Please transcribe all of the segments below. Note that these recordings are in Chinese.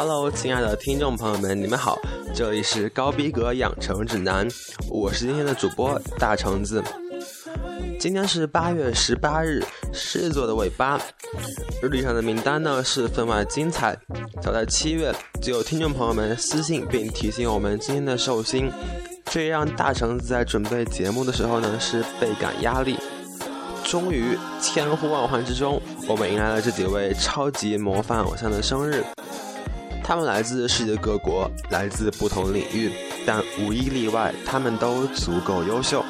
Hello， 亲爱的听众朋友们，你们好，这里是高逼格养成指南，我是今天的主播大橙子。今天是8月18日，狮子座的尾巴，日历上的名单呢是分外精彩。早在7月，就有听众朋友们私信并提醒我们今天的寿星，这也让大橙子在准备节目的时候呢是倍感压力。终于千呼万唤之中，我们迎来了这几位超级模范偶像的生日。他们来自世界各国，来自不同领域，但无一例外，他们都足够优秀。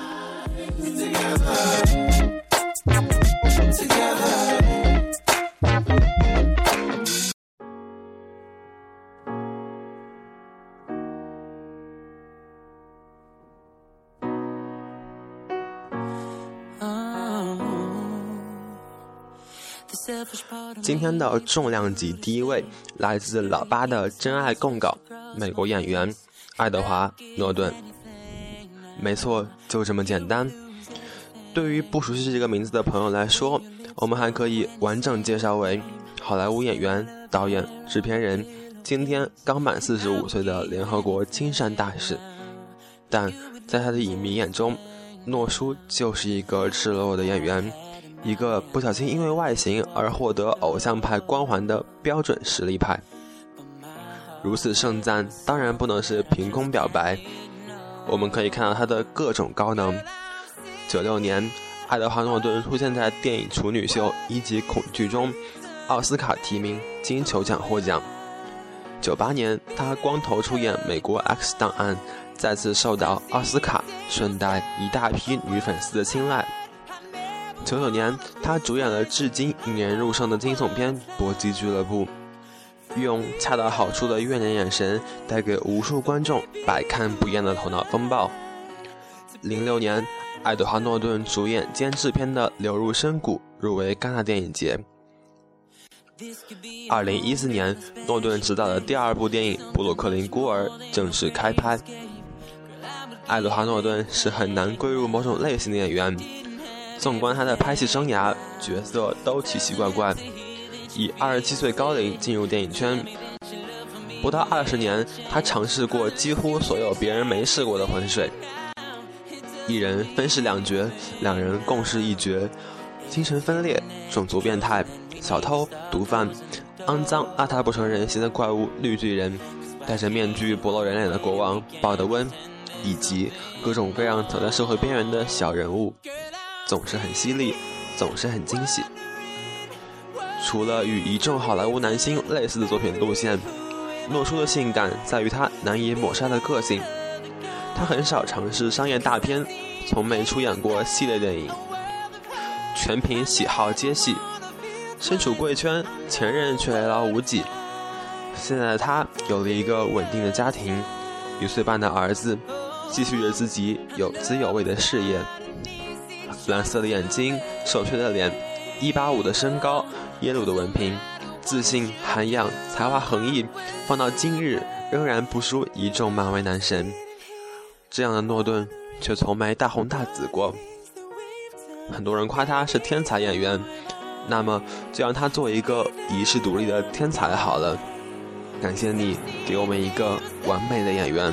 今天的重量级第一位来自老八的真爱供稿，美国演员爱德华·诺顿。没错，就这么简单。对于不熟悉这个名字的朋友来说，我们还可以完整介绍为好莱坞演员、导演、制片人，今天刚满45岁的联合国亲善大使。但在他的影迷眼中，诺叔就是一个赤裸裸的演员，一个不小心因为外形而获得偶像派光环的标准实力派。如此盛赞当然不能是凭空表白，我们可以看到他的各种高能。96年，爱德华·诺顿出现在电影处女秀《一级恐惧》中，奥斯卡提名，金球奖获奖。98年，他光头出演美国 X 档案，再次受到奥斯卡顺带一大批女粉丝的青睐。99年，他主演了至今引人入胜的惊悚片《搏击俱乐部》，用恰到好处的怨念眼神带给无数观众百看不厌的头脑风暴。06年，爱德华·诺顿主演兼制片的《流入深谷》入围戛纳电影节。2014年，诺顿执导的第2部电影《布鲁克林孤儿》正式开拍。爱德华·诺顿是很难归入某种类型的演员，纵观他的拍戏生涯，角色都奇奇怪怪。以27岁高龄进入电影圈，不到20年，他尝试过几乎所有别人没试过的浑水。一人分饰2角，两人共饰1角，精神分裂、种族变态、小偷、毒贩、肮脏邋遢不成人形的怪物绿巨人，戴着面具不露人脸的国王鲍德温，以及各种各样走在社会边缘的小人物，总是很犀利，总是很惊喜。除了与一众好莱坞男星类似的作品路线，诺叔的性感在于他难以抹杀的个性。他很少尝试商业大片，从没出演过系列电影，全凭喜好接戏。身处贵圈，前任却累劳无几。现在的他有了一个稳定的家庭，1岁半的儿子，继续着自己有滋有味的事业。蓝色的眼睛，瘦削的脸，185的身高，耶鲁的文凭，自信、涵养、才华横溢，放到今日仍然不输一众漫威男神。这样的诺顿却从没大红大紫过。很多人夸他是天才演员，那么就让他做一个遗世独立的天才好了。感谢你给我们一个完美的演员。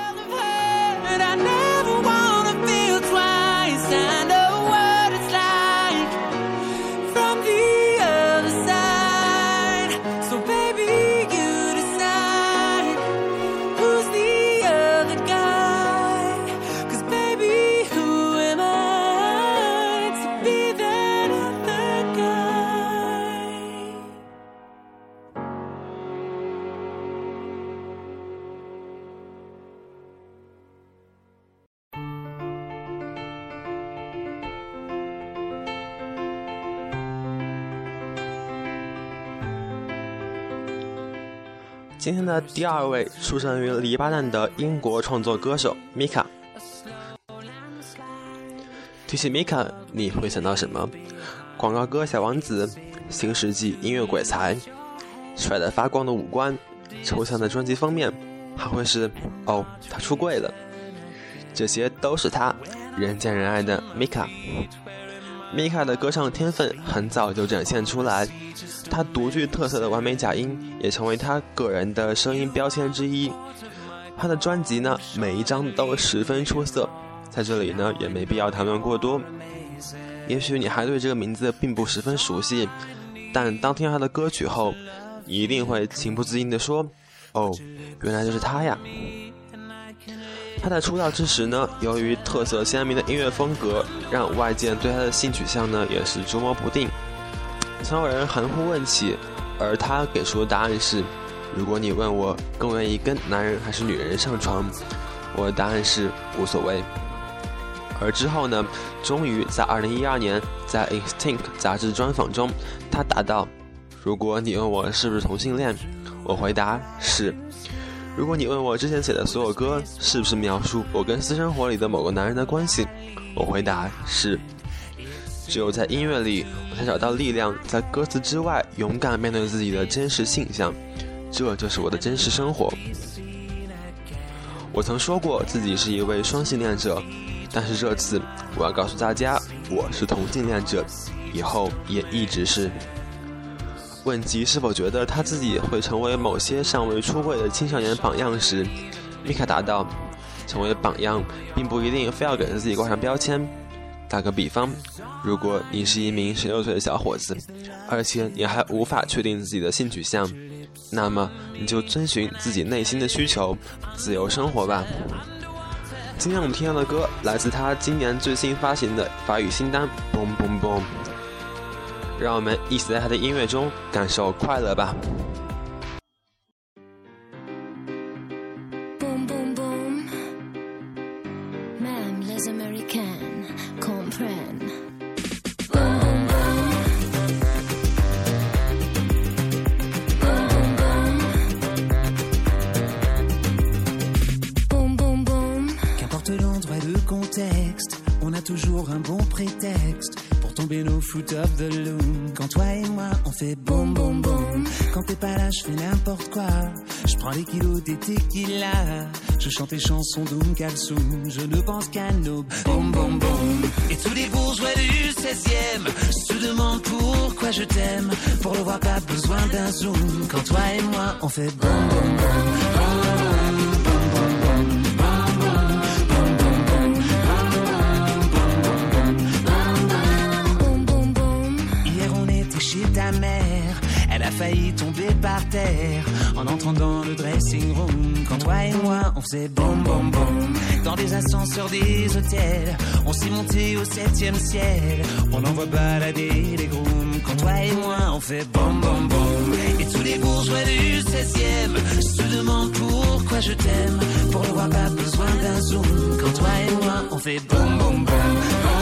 今天的第2位出生于黎巴嫩的英国创作歌手米卡。提起米卡，你会想到什么？广告歌小王子，新世纪音乐鬼才，帅得发光的五官，抽象的专辑封面，还会是哦，他出柜了。这些都是他人见人爱的米卡。 米卡的歌唱天分很早就展现出来，他独具特色的完美假音也成为他个人的声音标签之一。他的专辑呢，每一张都十分出色，在这里呢也没必要谈论过多。也许你还对这个名字并不十分熟悉，但当听到他的歌曲后，你一定会情不自禁地说：哦，原来就是他呀。他在出道之时呢，由于特色鲜明的音乐风格，让外界对他的性取向呢也是捉摸不定，曾有人含糊问起，而他给出的答案是：如果你问我更愿意跟男人还是女人上床，我的答案是无所谓。而之后呢，终于在2012年在 Instinct 杂志专访中，他答道：如果你问我是不是同性恋，我回答是。如果你问我之前写的所有歌是不是描述我跟私生活里的某个男人的关系，我回答是。只有在音乐里，我才找到力量，在歌词之外勇敢面对自己的真实性向，这就是我的真实生活。我曾说过自己是一位双性恋者，但是这次我要告诉大家，我是同性恋者，以后也一直是。问及是否觉得他自己会成为某些尚未出柜的青少年榜样时，米卡答道：成为榜样并不一定非要给自己挂上标签。打个比方，如果你是一名16岁的小伙子，而且你还无法确定自己的性取向，那么你就遵循自己内心的需求，自由生活吧。今天我们听到的歌来自他今年最新发行的法语新单 Boom Boom Boom， 让我们一起在他的音乐中感受快乐吧。 Boom boom boom, même les Américains comprennent. Boom boom boom, boom boom boom. Qu'importe l'endroit et le contexte, on a toujours un bon prétexte pour tomber nos foot of the loom. Quand toi et moi on fait boum boum boum, quand t'es pas là je fais n'importe quoi. Je prends les kilos des tequila, je chante les chansons d'Oum Kalsoum. Je ne pense qu'à nos boum boum boum. Et tous les bourgeois du 16e se demandent pourquoi je t'aime. Pour le voir pas besoin d'un zoom. Quand toi et moi on fait boum boum boum. Chez ta mère, elle a failli tomber par terre en entrant dans le dressing room. Quand toi et moi on faisait boum boum boum, dans les ascenseurs des hôtels, on s'est monté au 7e ciel. On envoie balader les grooms. Quand toi et moi on fait boum boum boum. Et tous les bourgeois du 16e se demandent pourquoi je t'aime. Pour le voir pas besoin d'un zoom. Quand toi et moi on fait boum boum boum.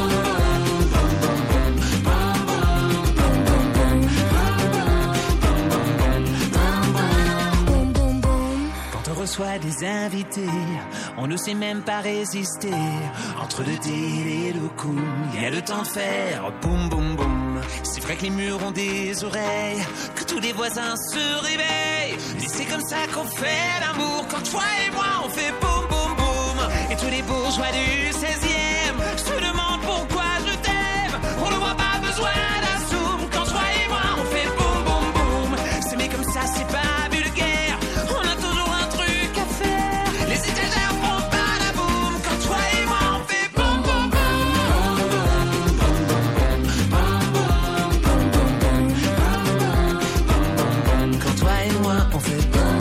Reçoit des invités, on ne sait même pas résister. Entre le thé et le coup, il y a le temps de faire boum boum boum. C'est vrai que les murs ont des oreilles, que tous les voisins se réveillent. Et c'est comme ça qu'on fait l'amour. Quand toi et moi on fait boum boum boum. Et tous les bourgeois du 16e se demandent pourquoi je t'aime. On ne voit pas besoin d'un zoom. Quand toi et moi on fait boum boum boum. C'est mais comme ça c'est pas vulgaire. On a toujours un truc. Les étagères font pas la boum. Quand toi et moi on fait boum boum boum. Quand toi et moi on fait boum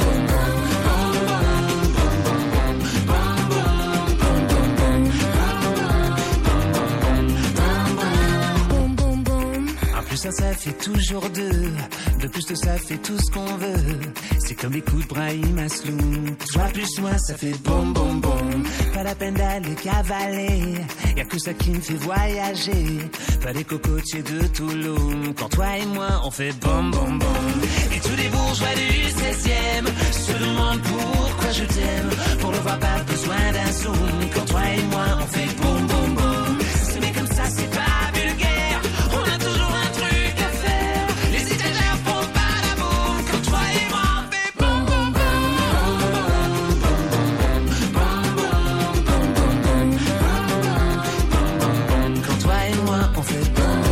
boum boum. En plus ça fait toujours deux. De plus de ça fait tout ce qu'on veut. C'est comme les coups de Brahim Asloum. Toi plus moi ça fait boum boum boum. Pas la peine d'aller cavaler, y'a que ça qui me fait voyager. Pas les cocotiers de Touloum. Quand toi et moi on fait boum boum boum. Et tous les bourgeois du 16e se demandent pourquoi je t'aime. Pour le voir pas besoin d'un zoom. Quand toi et moi on fait boum boum boum. C'est mais comme ça c'est pas vulgaire. On a toujours un truc à faire. Les étagères font pas la boum. Quand toi et moi on fait boum boum boum. Quand toi et moi on fait boum.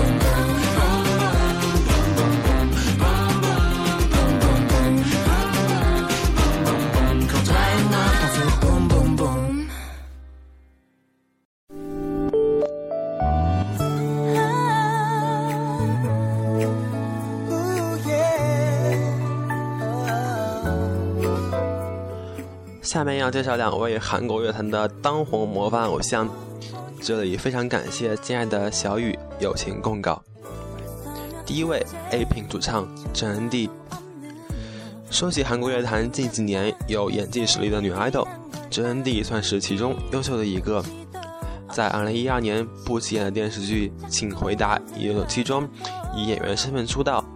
下面要介绍2位韩国乐坛的当红模范偶像，这里非常感谢亲爱的小雨友情供稿。第一位 A-Pink 主唱郑恩地。说起韩国乐坛近几年有演技实力的女 idol， 郑恩地算是其中优秀的一个。在2012年不起眼的电视剧《请回答1997》中以演员身份出道。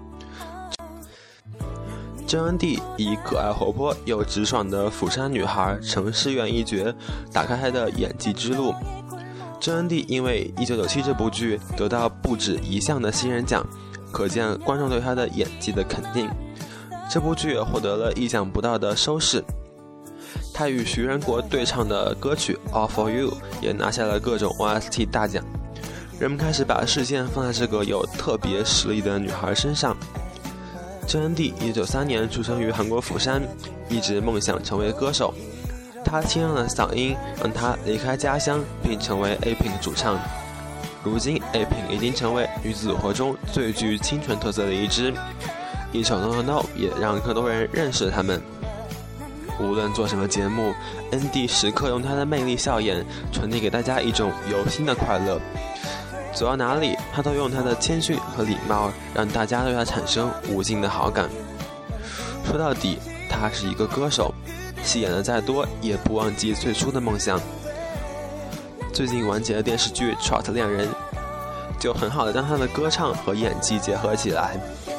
郑恩地以可爱活泼又直爽的釜山女孩程诗媛一角打开她的演技之路。郑恩地因为1997这部剧得到不止1项的新人奖，可见观众对她的演技的肯定。这部剧也获得了意想不到的收视，她与徐仁国对唱的歌曲 All For You 也拿下了各种 OST 大奖，人们开始把视线放在这个有特别实力的女孩身上。郑恩地1993年出生于韩国釜山，一直梦想成为歌手。她清亮的嗓音让她离开家乡并成为 A-Pink 主唱。如今 A-Pink 已经成为女子组合中最具清纯特色的一支，一首 No No No 也让更多人认识他们。无论做什么节目，恩地时刻用她的魅力笑颜传递给大家一种由心的快乐。走到哪里，她都用她的谦逊和礼貌让大家对她产生无尽的好感。说到底，她是一个歌手，戏演的再多也不忘记最初的梦想。最近完结的电视剧《Trot 恋人》就很好的将她的歌唱和演技结合起来。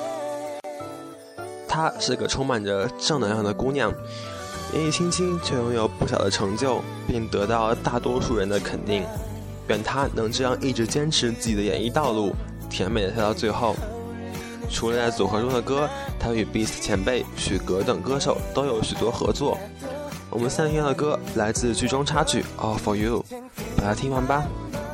她是个充满着正能量的姑娘，年纪轻轻却拥有不小的成就，并得到大多数人的肯定。愿她能这样一直坚持自己的演艺道路，甜美的跳到最后。除了在组合中的歌，她与 Beast 前辈许格等歌手都有许多合作。我们3天的歌来自剧中插曲 All For You， 把它听完吧。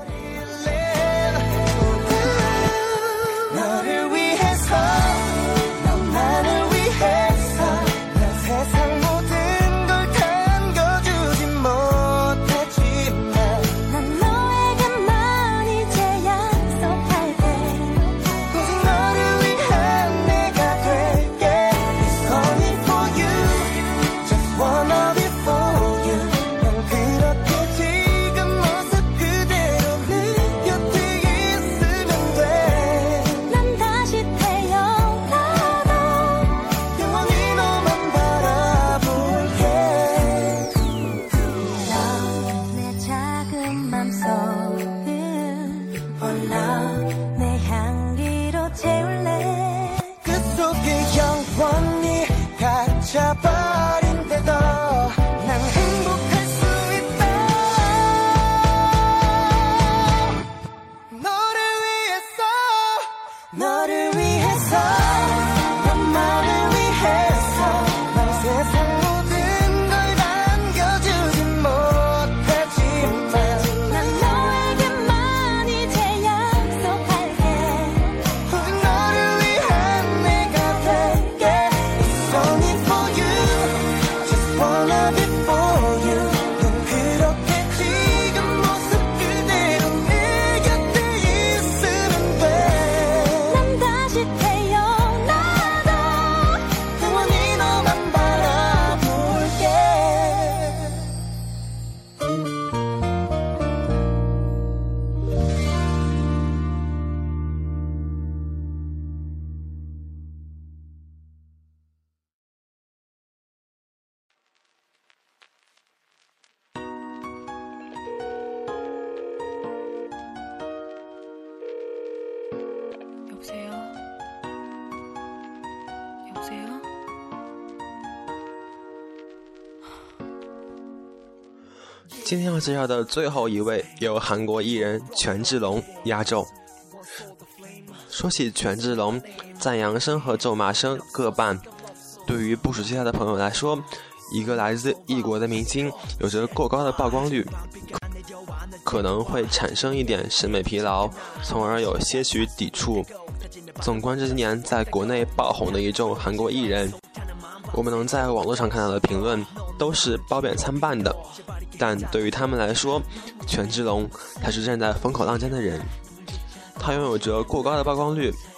今天要介绍的最后一位由韩国艺人权志龙压轴。说起权志龙，赞扬声和咒骂声各半。对于不熟悉他的朋友来说，一个来自异国的明星有着过高的曝光率，可能会产生一点审美疲劳，从而有些许抵触。纵观这些年在国内爆红的一众韩国艺人，我们能在网络上看到的评论都是褒贬参半的，但对于他们来说，权志龙他是站在风口浪尖的人。他拥有着过高的曝光率，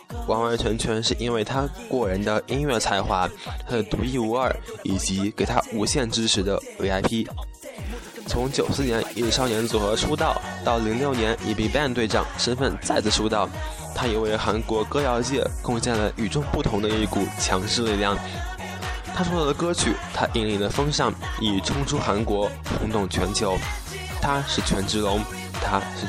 完完全全是因为他过人的音乐才华，他的独一无二，以及给他无限支持的 VIP。从94年以少年组合出道，到06年以 BigBang 队长身份再次出道，他也为韩国歌谣界贡献了与众不同的一股强势力量。他创作的歌曲，他引领的风尚已冲出韩国，轰动全球。他是权志龙，他是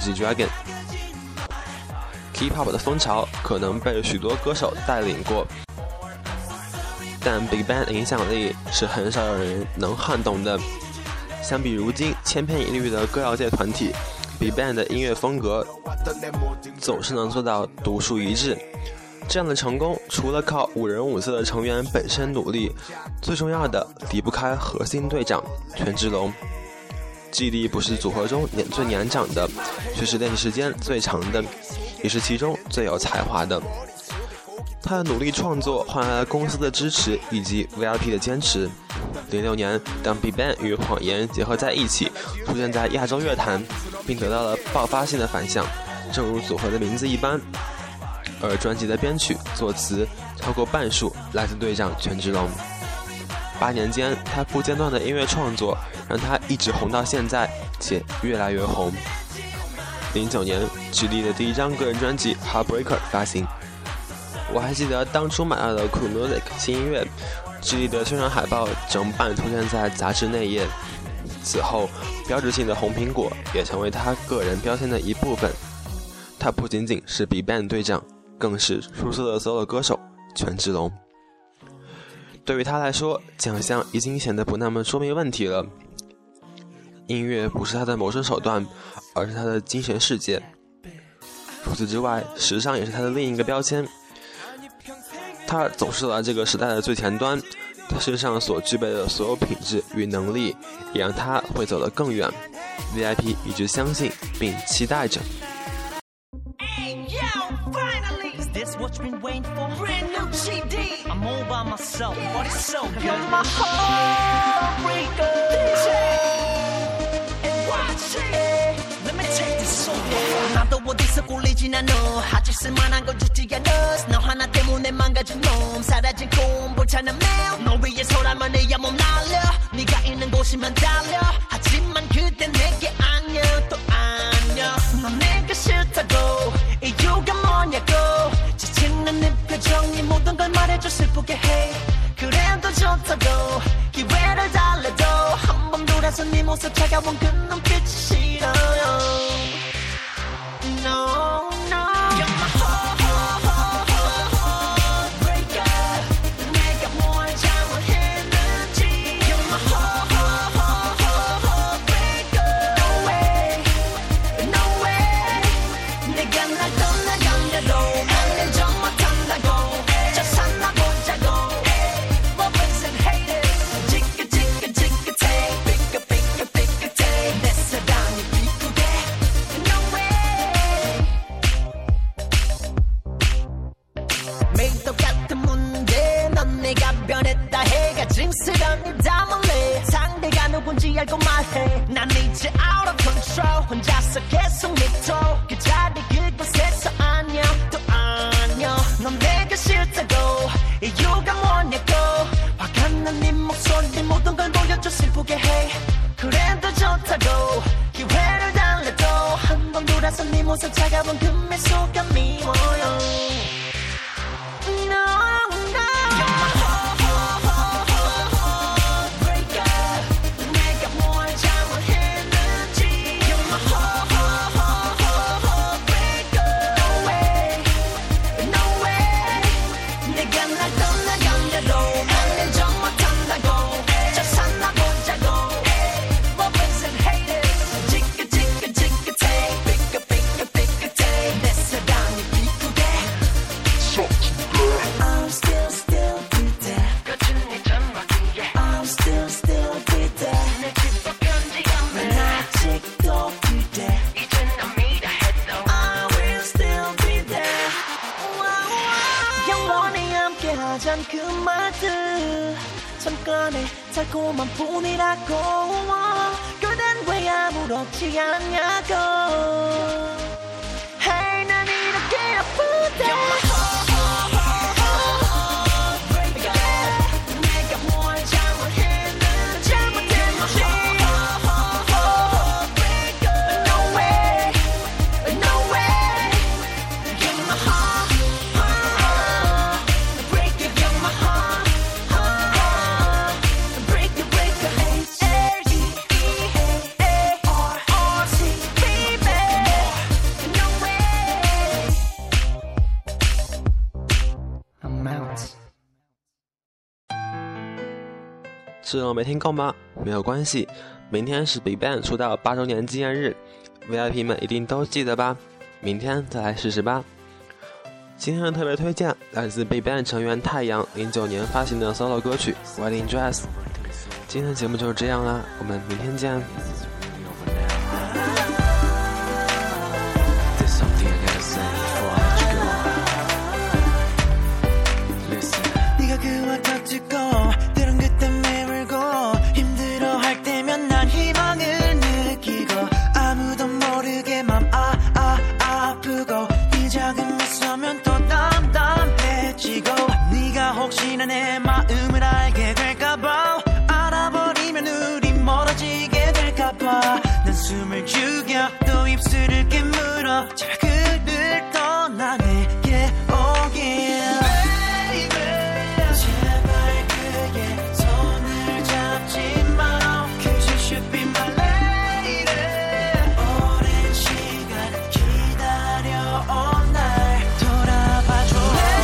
G-Dragon。K-pop 的风潮可能被许多歌手带领过，但 BigBang 的影响力是很少有人能撼动的。相比如今千篇一律的歌谣界团体， BigBang 的音乐风格总是能做到独树一帜。这样的成功除了靠5人5色的成员本身努力，最重要的离不开核心队长权志龙。记忆力不是组合中最年长的，却是练习时间最长的，也是其中最有才华的。他的努力创作换来了公司的支持以及 VIP 的坚持。06年，当 BigBang 与谎言结合在一起，出现在亚洲乐坛，并得到了爆发性的反响，正如组合的名字一般。而专辑的编曲、作词超过半数来自队长权志龙。8年间，他不间断的音乐创作让他一直红到现在，且越来越红。09年，GD的第一张个人专辑《Heartbreaker》发行。我还记得当初买到的 Cool Music 新音乐，GD的宣传海报整版出现在杂志内页。此后，标志性的红苹果也成为他个人标签的一部分。他不仅仅是 BigBang 队长，更是出色的 solo 歌手权志龙。对于他来说，奖项已经显得不那么说明问题了。音乐不是他的谋生手段，而是他的精神世界。除此之外，时尚也是他的另一个标签。他总是走在这个时代的最前端，他身上所具备的所有品质与能力，也让他会走得更远。VIP 一直相信并期待着。 This what you've been waiting for? Brand new GD. I'm all by myself, but it's so good. You're my heartbreaker. DJ and watch it. Let me take this song. 나도 어디서 꿀리진 않아. 하질 쓸만한 건 주지 않아. 너 하나 때문에 망가진 놈. 사라진 꿈 불타는 매일. 너 위해서라면 내야 몸 날려. 네가 있는 곳이면 달려. 하지만 그땐 내게 아니야 또 아니야. 넌 내가 싫다고 이유가 뭐냐고. 지치는 네 표정이 모든 걸 말해줘 슬프게 해. 그래도 좋다고 기회를 달래도 한 번 돌아서 네 모습 차가운 그 눈빛이 싫어요. No, no. You're my heartbreaker. 내가 뭘 잘못했는지. You're my heartbreaker. No way, no way. 내가 날 떠나가려도 나는 좀 못한다고. 저 산나보자고. Lovers and haters. 지긋지긋지긋해. 삐끗삐끗삐끗해. 내 사랑이 비꾸게. No way. 매일 똑같은 문제. 넌 내가 변했다 해가 징스런 입 다물래. 상대가 누군지 알고 말해. 난 이제 out of control. 혼자서 계속 믿어. 그 자리 그곳에서 아니야 또 아니야. 넌 내가 싫다고 이유가 뭐냐고. 화가 난 네 목소리 모든 걸 보여줘 슬프게 해. 그래도 좋다고 기회를 달래도 한 번 돌아서 네 모습 차가운 그 미소가 미워요. No, no. You're my heartbreaker. 내가 뭘 잘못했는지. You're my heartbreaker. No way, no way. 내가 날 떠나가려도 나는 좀 못한다고. 저 산나보자고. Lovers and haters. 지긋지긋지긋해. 삐끗삐끗삐끗해. 내 사랑이 비꾸게. I'm still be there. I'm still be there. 난 아직도 그대. I will still be there. 영원히 함께하잔 그 말들 잠깐의 달콤한 뿐이라고. 그댄 왜 아무렇지 않냐고. Hey 난 이렇게 아프대. 是没听够吗？没有关系，明天是 BigBang 出道8周年纪念日 ，VIP 们一定都记得吧？明天再来试试吧。今天的特别推荐来自 BigBang 成员太阳09年发行的 solo 歌曲 Wedding Dress。今天的节目就是这样啦，我们明天见。 혹시나 내 마음을 알게 될까봐 알아버리면 우리 멀어지게 될까봐 난 숨을 죽여 또 입술을 깨물어 제발 그를 떠나 내게 오길 Baby 제발 그의 손을 잡지 마 Cause you should be my lady 오랜 시간 기다려온 날 돌아봐줘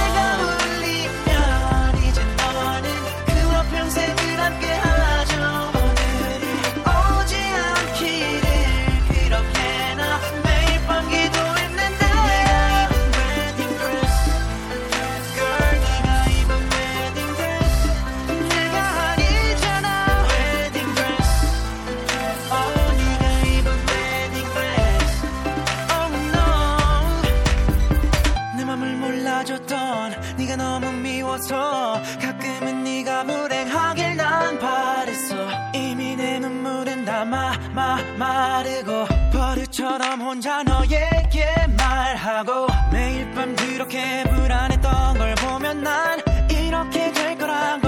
네가 너무 미워서 가끔은 네가 불행하길 난 바랬어 이미 내 눈물은 다 마르고 버릇처럼 혼자 너에게 말하고 매일 밤 그렇게 불안했던 걸 보면 난 이렇게 될 거란